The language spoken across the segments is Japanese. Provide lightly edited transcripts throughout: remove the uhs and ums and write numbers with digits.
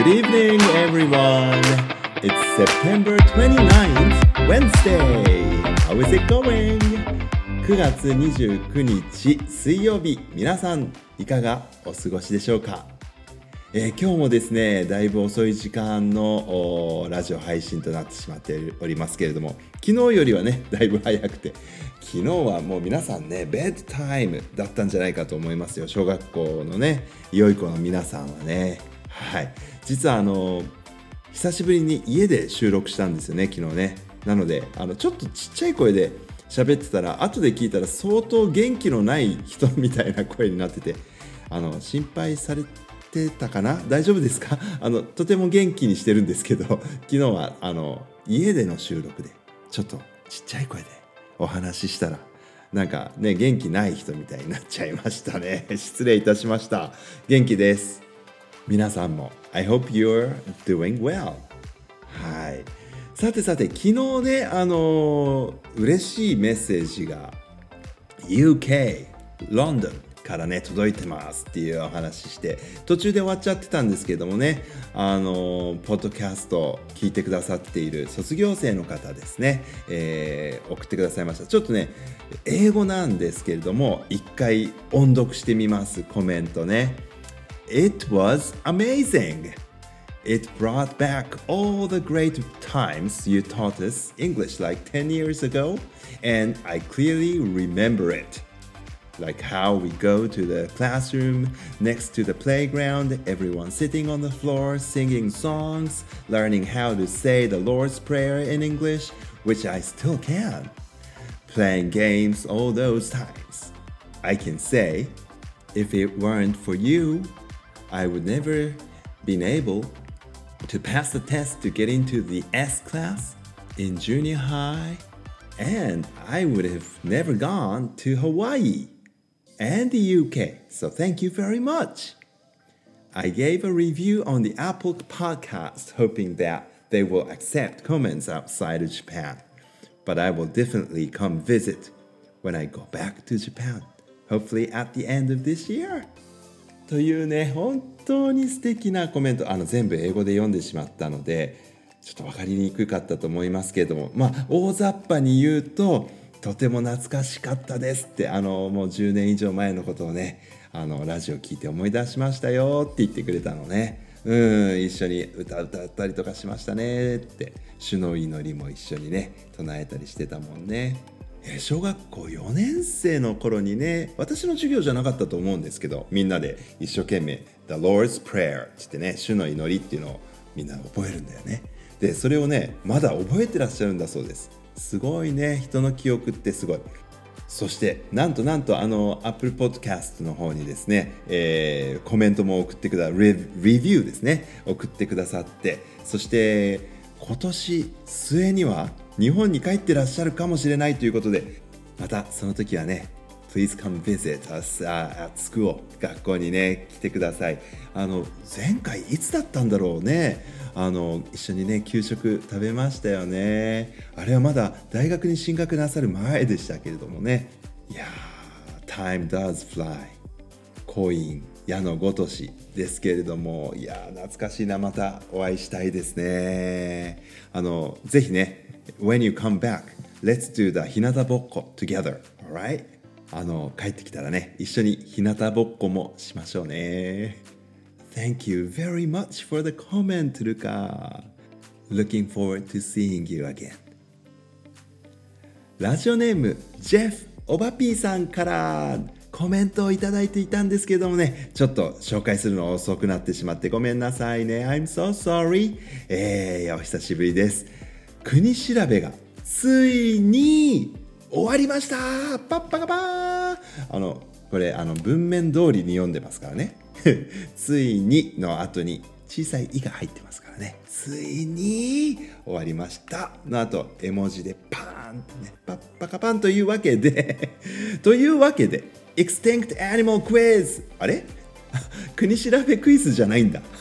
Good evening, everyone. It's September 29th, Wednesday. How is it going? 9月29日水曜日、皆さんいかがお過ごしでしょうか？今日もですね、だいぶ遅い時間のラジオ配信となってしまっておりますけれども、昨日よりはね、だいぶ早くて、昨日はもう皆さんね、ベッドタイムだったんじゃないかと思いますよ。小学校のね、良い子の皆さんはね。はい。実は久しぶりに家で収録したんですよね、昨日ね。なので、ちょっとちっちゃい声で喋ってたら、後で聞いたら相当元気のない人みたいな声になってて、心配されてたかな？大丈夫ですか？とても元気にしてるんですけど、昨日は家での収録でちょっとちっちゃい声でお話ししたら、なんかね、元気ない人みたいになっちゃいましたね。失礼いたしました。元気です。皆さんも I hope you're doing well。 はい。さて昨日ね、嬉しいメッセージが UK ロンドンからね届いてますっていうお話して途中で終わっちゃってたんですけどもね、ポッドキャスト聞いてくださっている卒業生の方ですね、送ってくださいました。ちょっとね英語なんですけれども一回音読してみます。コメントね。 It was amazing. It brought back all the great times you taught us English like 10 years ago, and I clearly remember it.Like how we go to the classroom next to the playground, everyone sitting on the floor singing songs, learning how to say the Lord's Prayer in English, which I still can. Playing games all those times. I can say, if it weren't for you, I would never been able to pass the test to get into the S class in junior high, and I would have never gone to Hawaii.And the UK, so thank you very much. I gave a review on the Apple podcast hoping that they will accept comments outside of Japan, but I will definitely come visit when I go back to Japan, hopefully at the end of this year. というね、本当に素敵なコメント、全部英語で読んでしまったのでちょっと分かりにくかったと思いますけれども、大雑把に言うととても懐かしかったですってもう10年以上前のことをねラジオ聞いて思い出しましたよって言ってくれたのね。一緒に歌ったりとかしましたねって。主の祈りも一緒にね唱えたりしてたもんね。小学校4年生の頃にね、私の授業じゃなかったと思うんですけど、みんなで一生懸命 The Lord's Prayer って言ってね、主の祈りっていうのをみんな覚えるんだよね。でそれをねまだ覚えてらっしゃるんだそうです。すごいね、人の記憶ってすごい。そしてなんとApple Podcast の方にですね、コメントも送ってくださレビューですね送ってくださって、そして今年末には日本に帰ってらっしゃるかもしれないということで、またその時はね Please come visit us at school 学校にね来てください。前回いつだったんだろうね。一緒にね給食食べましたよね。あれはまだ大学に進学なさる前でしたけれどもね。いやー Time does fly コイン矢のごとしですけれども、いやー懐かしいな。またお会いしたいですね。ぜひね When you come back let's do the 日向ぼっこ together, alright? 帰ってきたらね一緒に日向ぼっこもしましょうね。Thank you very much for the comment, Luca. Looking forward to seeing you again. ラジオネームジェフおばぴーさんからコメントをいただいていたんですけどもね、ちょっと紹介するの遅くなってしまってごめんなさいね。I'm so sorry. お久しぶりです。国調べがついに終わりました。パッパカパー。これ文面通りに読んでますからね。ついにの後に小さい「い」が入ってますからね。ついに終わりましたの後絵文字でパーンとねパッパカパンというわけでExtinct Animal Quiz あれ国調べクイズじゃないんだ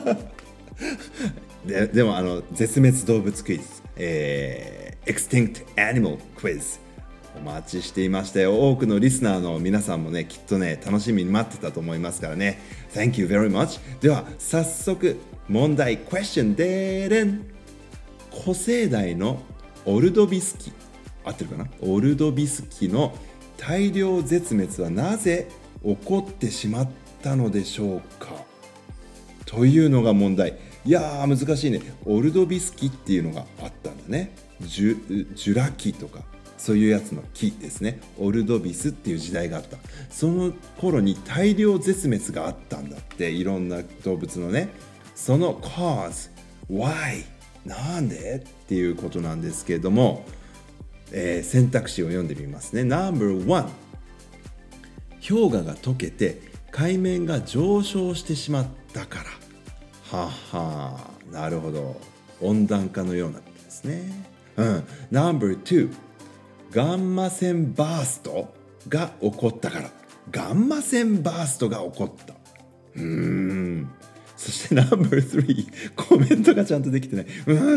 でも絶滅動物クイズ、Extinct Animal Quizお待ちしていましたよ。多くのリスナーの皆さんもねきっとね楽しみに待ってたと思いますからね。 Thank you very much。 では早速問題 Question でーれん。古生代のオルドビス紀、合ってるかな、オルドビス紀の大量絶滅はなぜ起こってしまったのでしょうかというのが問題。いやー難しいね。オルドビス紀っていうのがあったんだね。ジュラ紀とかそういうやつの紀ですね。オルドビスっていう時代があった。その頃に大量絶滅があったんだって、いろんな動物のね。その cause why なんでっていうことなんですけれども、選択肢を読んでみますね。 No.1 氷河が溶けて海面が上昇してしまったから。はは、なるほど。温暖化のようなことですね。No.2 ガンマ線バーストが起こったから。ガンマ線バーストが起こった。そして No.3 コメントがちゃんとできてない。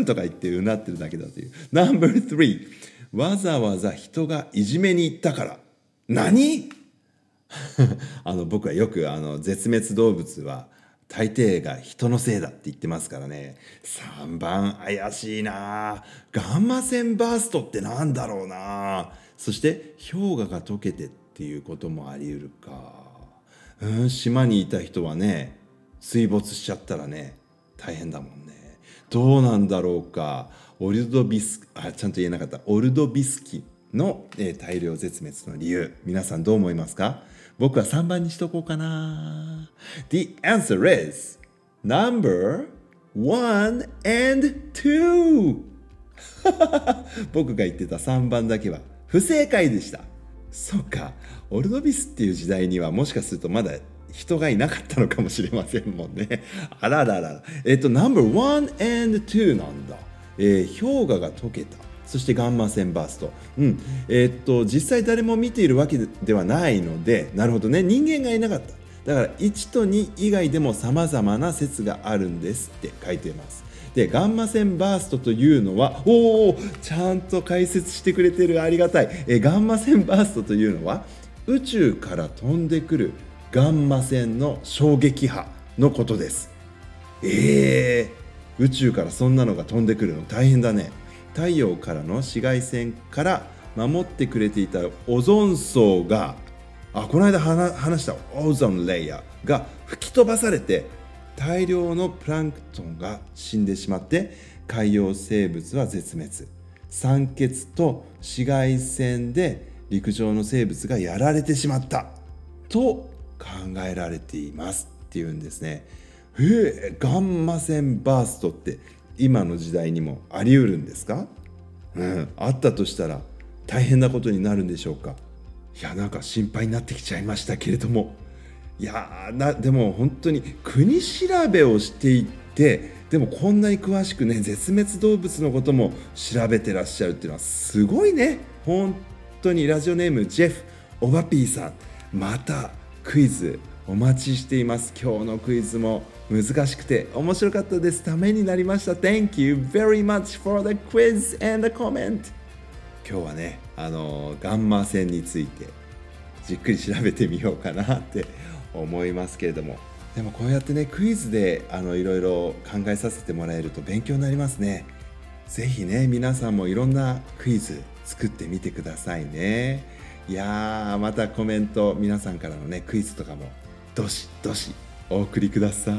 とか言ってうなってるだけだという。No.3 わざわざ人がいじめに行ったから。何僕はよく絶滅動物は大抵が人のせいだって言ってますからね。3番怪しいな。ガンマ線バーストってなんだろうな。そして氷河が溶けてっていうこともあり得るか。島にいた人はね、水没しちゃったらね大変だもんね。どうなんだろうか。ちゃんと言えなかった。オルドビス紀の、大量絶滅の理由、皆さんどう思いますか？僕は3番にしとこうかな。The answer is number 1 and 2 僕が言ってた3番だけは不正解でした。そうか、オルドビスっていう時代にはもしかするとまだ人がいなかったのかもしれませんもんね。あららら。No.1 and 2 なんだ。氷河が溶けた。そしてガンマ線バースト。実際誰も見ているわけではないので、なるほどね。人間がいなかった。だから1と2以外でも様々な説があるんですって書いています。で、ガンマ線バーストというのは、ちゃんと解説してくれてる。ありがたい。ガンマ線バーストというのは宇宙から飛んでくるガンマ線の衝撃波のことです。宇宙からそんなのが飛んでくるの大変だね。太陽からの紫外線から守ってくれていたオゾン層が、この間話したオゾンレイヤーが吹き飛ばされて、大量のプランクトンが死んでしまって海洋生物は絶滅。酸欠と紫外線で陸上の生物がやられてしまったと考えられていますっていうんですね。ガンマ線バーストって今の時代にもあり得るんですか？あったとしたら大変なことになるんでしょうか？いや、なんか心配になってきちゃいましたけれども、いやでも本当に国調べをしていって、でもこんなに詳しくね、絶滅動物のことも調べてらっしゃるっていうのはすごいね。本当に。ラジオネームジェフオバピーさん、またクイズお待ちしています。今日のクイズも難しくて面白かったです。ためになりました。 Thank you very much for the quiz and the comment。 今日はね、ガンマ線についてじっくり調べてみようかなって思いますけれども、でもこうやってね、クイズでいろいろ考えさせてもらえると勉強になりますね。ぜひね、皆さんもいろんなクイズ作ってみてくださいね。いやー、またコメント、皆さんからのねクイズとかもどしどしお送りください。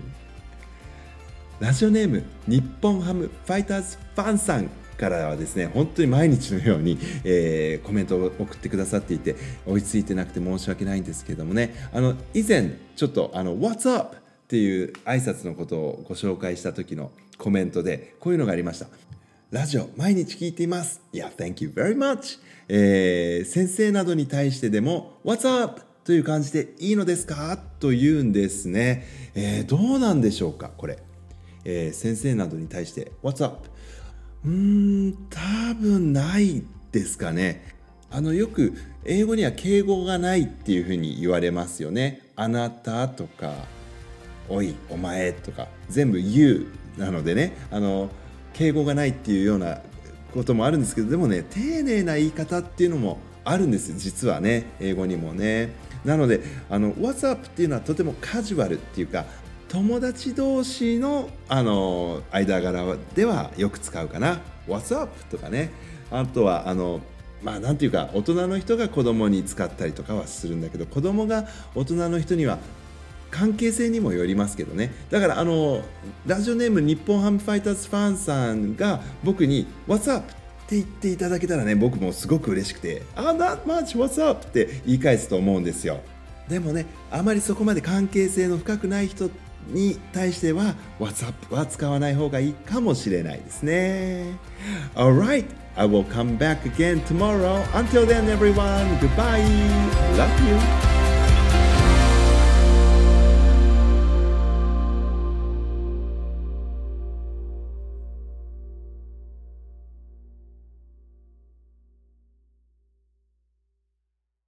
ラジオネーム日本ハムファイターズファンさんからはですね、本当に毎日のように、コメントを送ってくださっていて、追いついてなくて申し訳ないんですけどもね、以前ちょっとWhat's up? っていう挨拶のことをご紹介した時のコメントでこういうのがありました。ラジオ毎日聞いています。いや、Thank you very much。先生などに対してでも What's up? という感じでいいのですかというんですね。どうなんでしょうかこれ。先生などに対して What's up? 多分ないですかね。よく英語には敬語がないっていうふうに言われますよね。あなたとかおいお前とか全部 You なのでね、敬語がないっていうようなこともあるんですけど、でもね、丁寧な言い方っていうのもあるんです実はね、英語にもね。なのでWhat's up っていうのはとてもカジュアルっていうか、 友達同士の、間柄ではよく使うかな。 What's up? とかね。あとはなんていうか、大人の人が子供に使ったりとかはするんだけど、子供が大人の人には関係性にもよりますけどね。だからラジオネーム日本ハムファイターズファンさんが僕に What's up? って言っていただけたらね、僕もすごく嬉しくて、Not much, what's up? って言い返すと思うんですよ。でもね、あまりそこまで関係性の深くない人に対しては What's up? は使わない方がいいかもしれないですね。 Alright, I will come back again tomorrow. Until then everyone, goodbye. Love you.